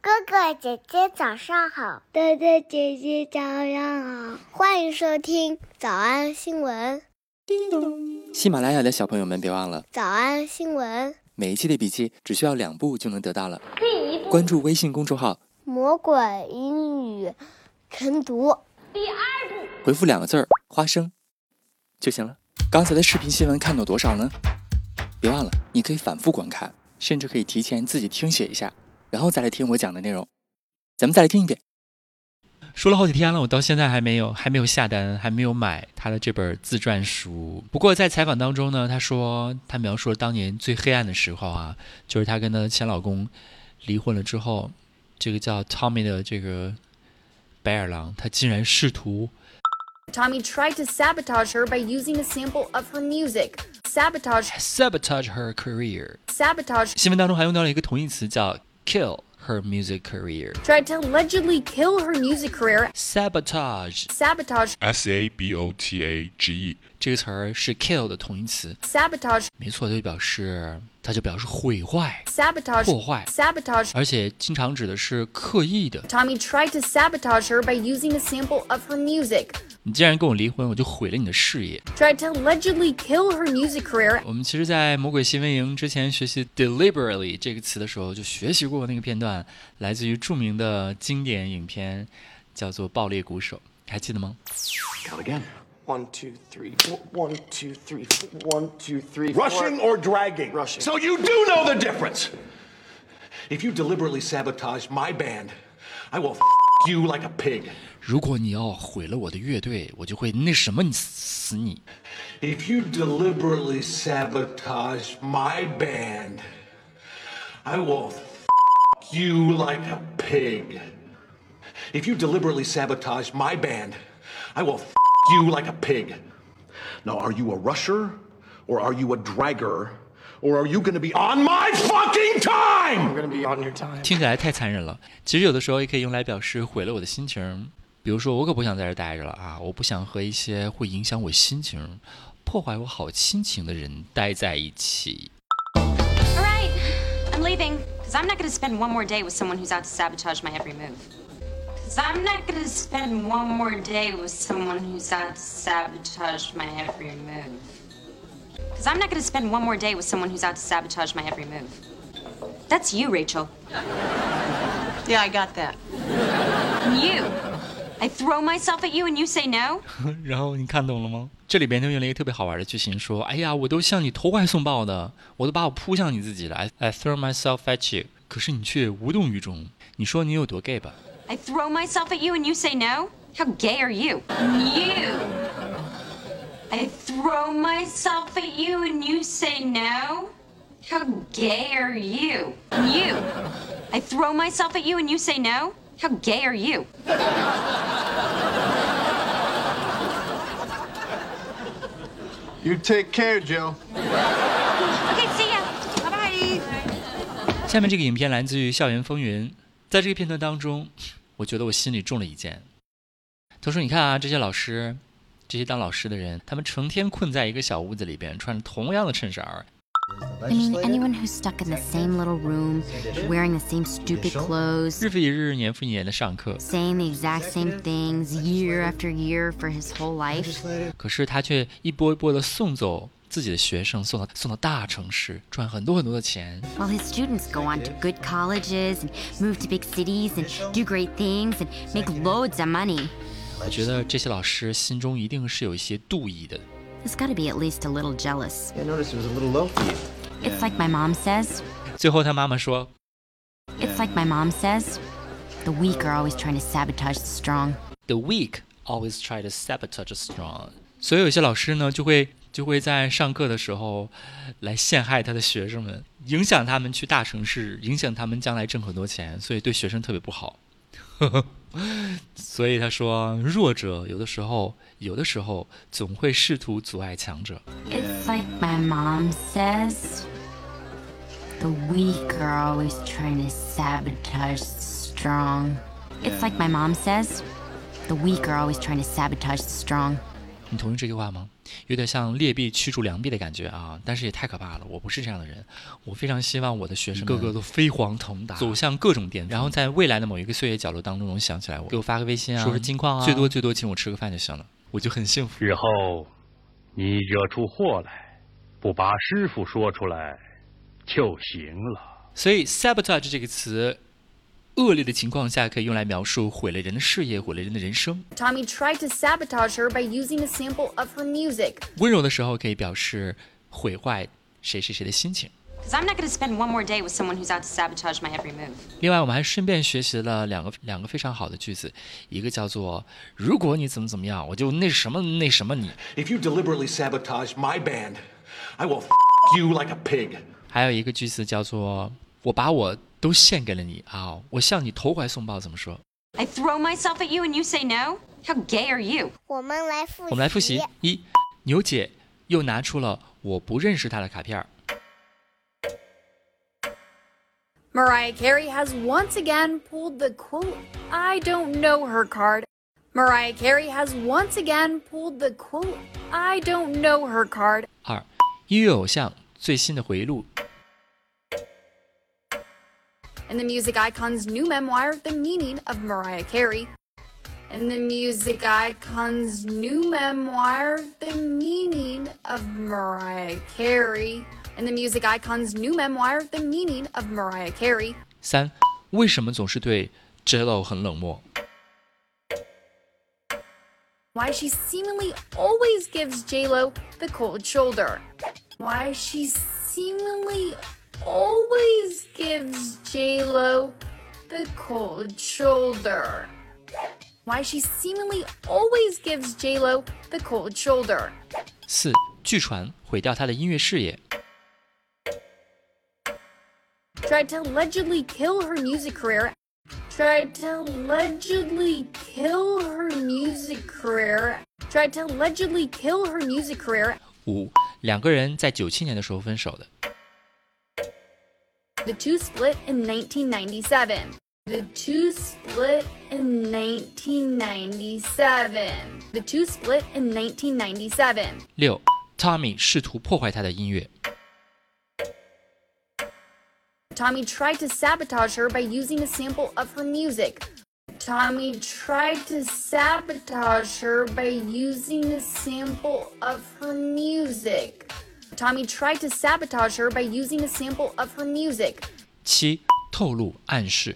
哥哥姐姐早上好， 哥哥姐姐早上好， 欢迎收听早安新闻。 叮咚！喜马拉雅的小朋友们别忘了早安新闻， 每一期的笔记只需要2步就能得到了。第1步，关注微信公众号魔鬼英语晨读。 第2步， 回复2个字花生就行了。刚才的视频新闻看懂多少呢？别忘了你可以反复观看，甚至可以提前自己听写一下，然后再来听我讲的内容。咱们再来听一遍。 说了好几天了，我到现在还没有下单，还没有买他的这本自传书。不过在采访当中呢，他说他描述了当年最黑暗的时候啊，就是他跟他的前老公离婚了之后，这个叫 Tommy 的这个白眼狼，他竟然试图 Tommy tried to sabotage her by using a sample of her music. Sabotage her career. Sabotage 新闻当中还用到了一个同义词叫 kill her music career. Tried to allegedly kill her music career. Sabotage SABOTAGE 这个词儿是 kill 的同义词。 Sabotage 没错，它就表示毁坏、 Sabotage 破坏。 Sabotage 而且经常指的是刻意的。 Tommy tried to sabotage her by using a sample of her music. 你既然跟我离婚，我就毁了你的事业。 Tried to allegedly kill her music career. 我们其实在魔鬼新闻营之前学习 deliberately 这个词的时候就学习过那个片段，来自于著名的经典影片叫做《爆裂鼓手》，还记得吗？ Count again. 1, 2, 3, 4. 1, 2, 3, 4. 1, 2, 3, 4. Rushing or dragging? Rushing. So you do know the difference. If you deliberately sabotage my band, I will you like a pig. 如果你要毁了我的乐队，我就会那什么你死你。 If you deliberately sabotage my band, I will you like a pig. If you deliberately sabotage my band, I will you like a pig. Now, are you a rusher, or are you a dragger, or are you going to be on my fucking time? I'm going to be on your time. 听起来太残忍了。其实有的时候也可以用来表示毁了我的心情。比如说，我可不想在这待着了啊！我不想和一些会影响我心情、破坏我好心情的人待在一起。 All right, I'm leaving, because I'm not going to spend one more day with someone who's out to sabotage my every move. Because I'm not going to spend one more day with someone who's out to sabotage my every move. Because I'm not going to spend one more day with someone who's out to sabotage my every move. That's you, Rachel. Yeah, I got that. And you. I throw myself at you and you say no? 然后你看懂了吗？这里边就用了一个特别好玩的句型，说：“哎呀，我都向你投怀送抱的，我都把我扑向你自己了。I throw myself at you， 可是你却无动于衷。你说你有多 gay 吧？” I throw myself at you and you say no? How gay are you? You. I throw myself at you and you say no? How gay are you? You. I throw myself at you and you say no? How gay are you? You take care, Joe. Okay, see ya. Bye-bye. 下面这个影片来自于《校园风云》，在这个片段当中，我觉得我心里中了一箭。他说：“你看啊，这些老师，这些当老师的人，他们成天困在一个小屋子里边，穿着同样的衬衫。” I mean, anyone who's stuck in the same little room, wearing the same stupid clothes, 日复一日，年复一年的上课， saying the exact same things year after year for his whole life. 可是他却一波一波的送走自己的学生，送到大城市，赚很多的钱。 While his students go on to good colleges and move to big cities and do great things and make loads of money. 我觉得这些老师心中一定是有一些妒意的。 There's got to be at least a little jealous. I noticed it was a little low for you. It's like my mom says. 最后他妈妈说 It's like my mom says. The weak are always trying to sabotage the strong. The weak always try to sabotage the strong. 所以有些老师呢，就会在上课的时候来陷害他的学生们，影响他们去大城市，影响他们将来挣很多钱，所以对学生特别不好。所以他说，弱者有的时候总会试图阻碍强者。 It's like my mom says. The weak are always trying to sabotage the strong. It's like my mom says. The weak are always trying to sabotage the strong. 你同意这句话吗？有点像劣币驱逐良币的感觉啊，但是也太可怕了。我不是这样的人，我非常希望我的学生个个都飞黄腾达，走向各种巅峰，然后在未来的某一个岁月角落当中能想起来我，给我发个微信啊，说说近况啊，最多请我吃个饭就行了，我就很幸福。 日后你惹出祸来，不把师傅说出来就行了。 所以 sabotage 这个词恶劣的情况下可以用来描述毁了人的事业，毁了人的人生。 Tommy tried to sabotage her by using a sample of her music. 温柔的时候可以表示毁坏谁谁谁的心情。 Because I'm not going to spend one more day with someone who's out to sabotage my every move. 另外我们还顺便学习了两个非常好的句子，一个叫做如果你怎么样，我就那什么你。 If you deliberately sabotage my band, I will you like a pig. 还有一个句子叫做我把我都献给了你啊，我向你投怀送抱，怎么说？ I throw myself at you and you say no? How gay are you? 我们来复习。一，牛姐又拿出了我不认识她的卡片。 Mariah Carey has once again pulled the quote, I don't know her card. Mariah Carey has once again pulled the quote, I don't know her card. 二，音乐偶像最新的回忆录。 In the music icon's new memoir, The Meaning of Mariah Carey. In the music icon's new memoir, The Meaning of Mariah Carey. In the music icon's new memoir, The Meaning of Mariah Carey. 三，为什么总是对 J.Lo 很冷漠？ Why she seemingly always gives J.Lo the cold shoulder. Why she seemingly always gives J.Lo the cold shoulder. Why she seemingly always gives J.Lo the cold shoulder. 四，据传毁掉她的音乐事业。 Tried to allegedly kill her music career. Tried to allegedly kill her music career. Tried to allegedly kill her music career. 五，两个人在97年的时候分手的。 The two split in 1997. The two split in 1997. The two split in 1997. 六， Tommy 试图破坏她的音乐。 Tommy tried to sabotage her by using a sample of her music. Tommy tried to sabotage her by using a sample of her music. Tommy tried to sabotage her by using a sample of her music. 七，透露暗示。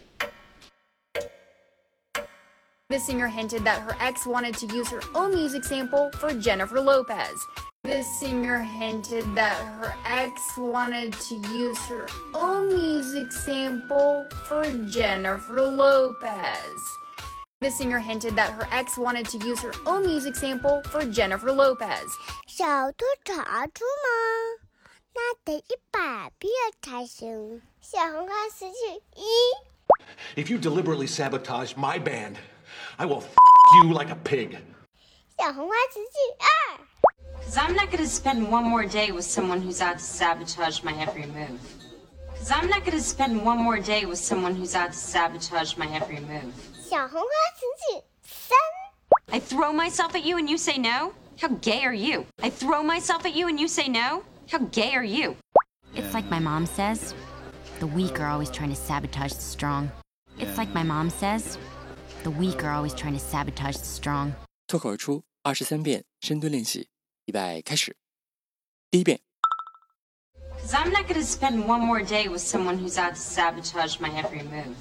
The singer hinted that her ex wanted to use her own music sample for Jennifer Lopez. The singer hinted that her ex wanted to use her own music sample for Jennifer Lopez. The singer hinted that her ex wanted to use her own music sample for Jennifer Lopez. 小兔查出吗？那得100遍才行。小红花词句1。 If you deliberately sabotage my band, I will you like a pig. 小红花词句2。 Because I'm not going to spend one more day with someone who's out to sabotage my every move. Because I'm not going to spend one more day with someone who's out to sabotage my every move. 小红花词句3。 I throw myself at you and you say no? How gay are you? I throw myself at you and you say no? How gay are you? It's like my mom says, the weak are always trying to sabotage the strong. It's like my mom says, the weak are always trying to sabotage the strong. 脱口而出23遍深蹲练习，预备开始。第一遍。 Because I'm not going to spend one more day with someone who's out to sabotage my every move.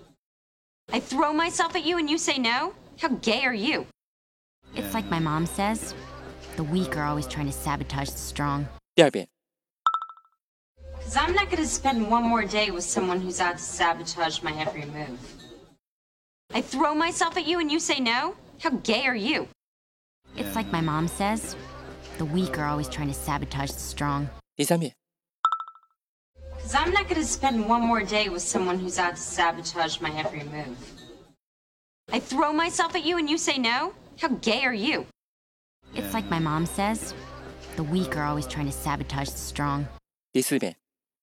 I throw myself at you and you say no? How gay are you? It's like my mom says, the weak are always trying to sabotage the strong. 第二遍。 Because I'm not going to spend one more day with someone who's out to sabotage my every move. I throw myself at you and you say no? How gay are you? It's like my mom says, the weak are always trying to sabotage the strong. 第三遍。 Because I'm not going to spend one more day with someone who's out to sabotage my every move. I throw myself at you and you say no? How gay are you? It's like my mom says, the weak are always trying to sabotage the strong. 第四遍。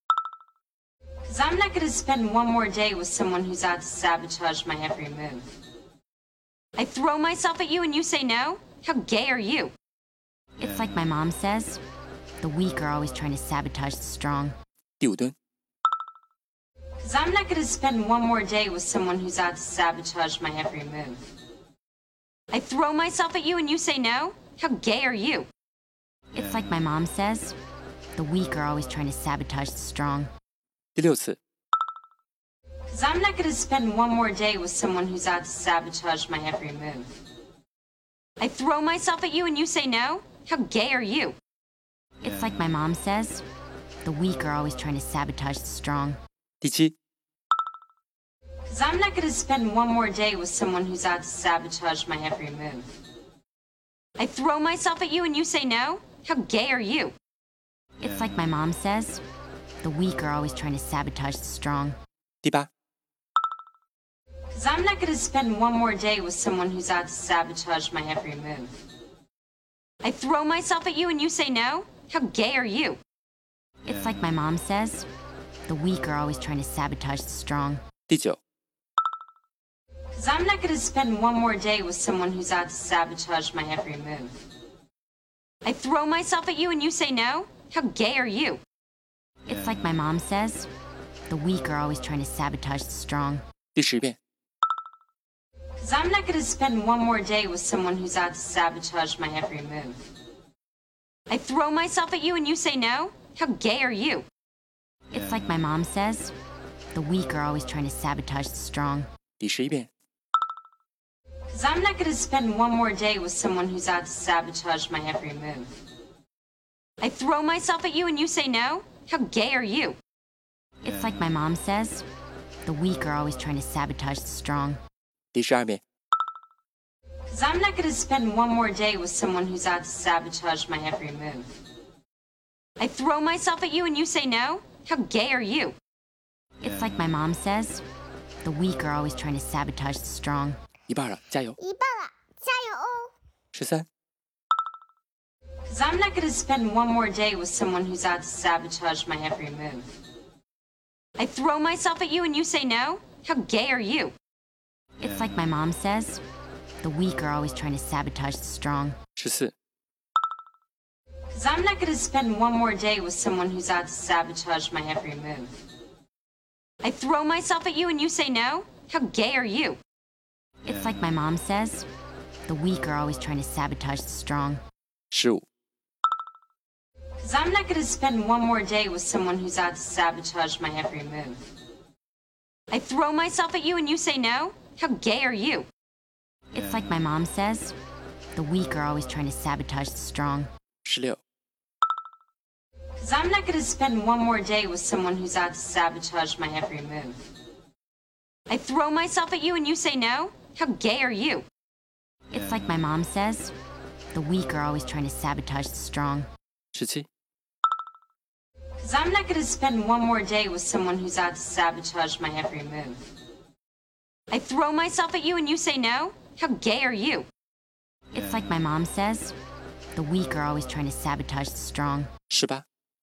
Because I'm not going to spend one more day with someone who's out to sabotage my every move. I throw myself at you and you say no? How gay are you? It's like my mom says, the weak are always trying to sabotage the strong. 第5蹲 Because I'm not going to spend one more day with someone who's out to sabotage my every move. I throw myself at you and you say no? How gay are you? It's like my mom says, the weak are always trying to sabotage the strong. 第6次 Because I'm not going to spend one more day with someone who's out to sabotage my every move. I throw myself at you and you say no? How gay are you? It's like my mom says, the weak are always trying to sabotage the strong. 第7 Because I'm not going to spend one more day with someone who's out to sabotage my every move. I throw myself at you and you say no? How gay are you? It's like my mom says, the weak are always trying to sabotage the strong. 第8 Because I'm not going to spend one more day with someone who's out to sabotage my every move. I throw myself at you and you say no? How gay are you? It's like my mom says, the weak are always trying to sabotage the strong. 第9 Because I'm not going to spend one more day with someone who's out to sabotage my every move. I throw myself at you and you say no? How gay are you? It's like my mom says, the weak are always trying to sabotage the strong. 第10遍 Because I'm not going to spend one more day with someone who's out to sabotage my every move. I throw myself at you and you say no? How gay are you? It's like my mom says, the weak are always trying to sabotage the strong. 第11遍 Because I'm not going to spend one more day with someone who's out to sabotage my every move. I throw myself at you and you say no? How gay are you? It's like my mom says, the weak are always trying to sabotage the strong. 第12遍 Because I'm not going to spend one more day with someone who's out to sabotage my every move. I throw myself at you and you say no? How gay are you? It's like my mom says, the weak are always trying to sabotage the strong. 一半了，加油！ 一半了，加油哦！ 13 Because I'm not going to spend one more day with someone who's out to sabotage my every move. I throw myself at you and you say no? How gay are you? It's like my mom says, the weak are always trying to sabotage the strong. 14 Because I'm not going to spend one more day with someone who's out to sabotage my every move. I throw myself at you and you say no? How gay are you? It's like my mom says, the weak are always trying to sabotage the strong. 15 Because I'm not going to spend one more day with someone who's out to sabotage my every move. I throw myself at you and you say no? How gay are you? It's like my mom says, the weak are always trying to sabotage the strong. 16 Because I'm not going to spend one more day with someone who's out to sabotage my every move. I throw myself at you and you say no? How gay are you? It's like my mom says, the weak are always trying to sabotage the strong. 17 Because I'm not going to spend one more day with someone who's out to sabotage my every move. I throw myself at you and you say no? How gay are you? It's like my mom says, the weak are always trying to sabotage the strong. 18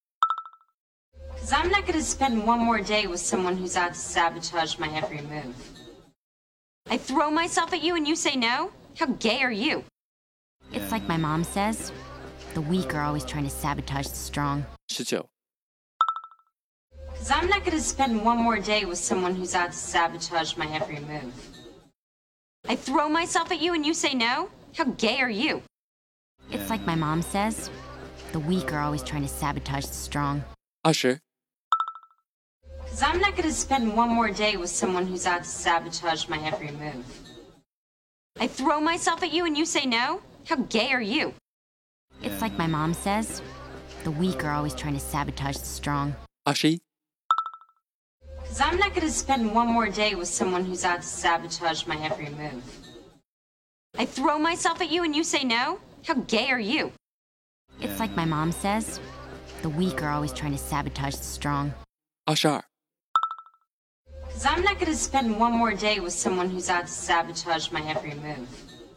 Because I'm not going to spend one more day with someone who's out to sabotage my every move. I throw myself at you and you say no? How gay are you? It's like my mom says, the weak are always trying to sabotage the strong. 19 Because I'm not going to spend one more day with someone who's out to sabotage my every move. I throw myself at you and you say no? How gay are you? It's like my mom says, the weak are always trying to sabotage the strong. 20 Because I'm not going to spend one more day with someone who's out to sabotage my every move. I throw myself at you and you say no? How gay are you? It's like my mom says, the weak are always trying to sabotage the strong. 21 Because I'm not going to spend one more day with someone who's out to sabotage my every move. I throw myself at you and you say no? How gay are you? It's like my mom says, the weak are always trying to sabotage the strong. 22 Because I'm not going to spend one more day with someone who's out to sabotage my every move.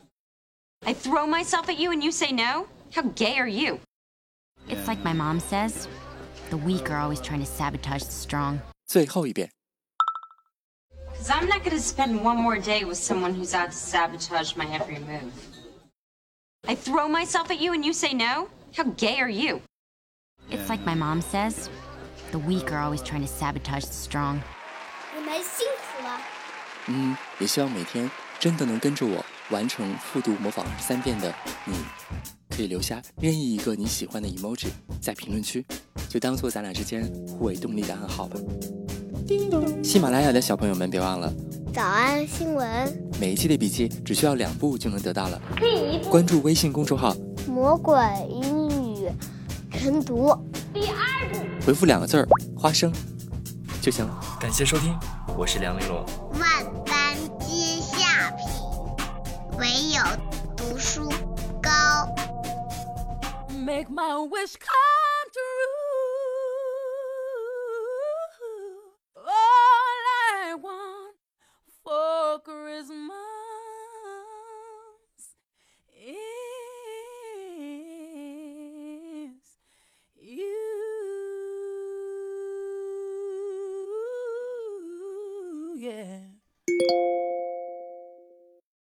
I throw myself at you and you say no? How gay are you? It's like my mom says, the weak are always trying to sabotage the strong. 最后一遍 Because I'm not going to spend one more day with someone who's out to sabotage my every move. I throw myself at you and you say no? How gay are you? It's like my mom says, the weak are always trying to sabotage the strong. 你们辛苦了。 也希望每天真的能跟着我完成复读模仿3遍的你，可以留下任意一个你喜欢的 emoji 在评论区，就当做咱俩之间互为动力的暗号吧。喜马拉雅的小朋友们别忘了早安新闻， 每一期的笔记只需要2步就能得到了。关注微信公众号魔鬼英语晨读， 第2步回复2个字儿花生就行了。感谢收听，我是梁玲珑。 万般皆下品，唯有读书高。 Make my wish come